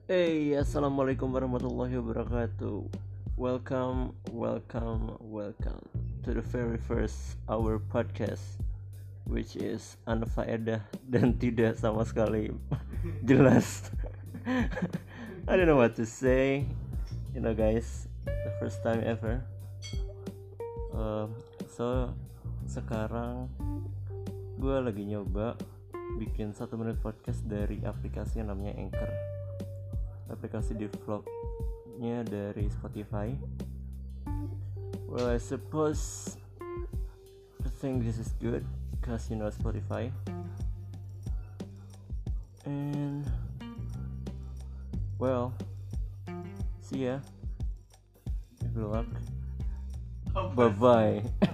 Hey, assalamualaikum warahmatullahi wabarakatuh. Welcome to the very first our podcast, which is unfaedah dan tidak sama sekali jelas. I don't know what to say, guys. The first time ever. So sekarang gue lagi nyoba bikin 1 menit podcast dari aplikasi yang namanya Anchor. Aplikasi di vlognya dari Spotify. Well, I suppose I think this is good because Spotify. And well, see ya. Good luck. Bye bye.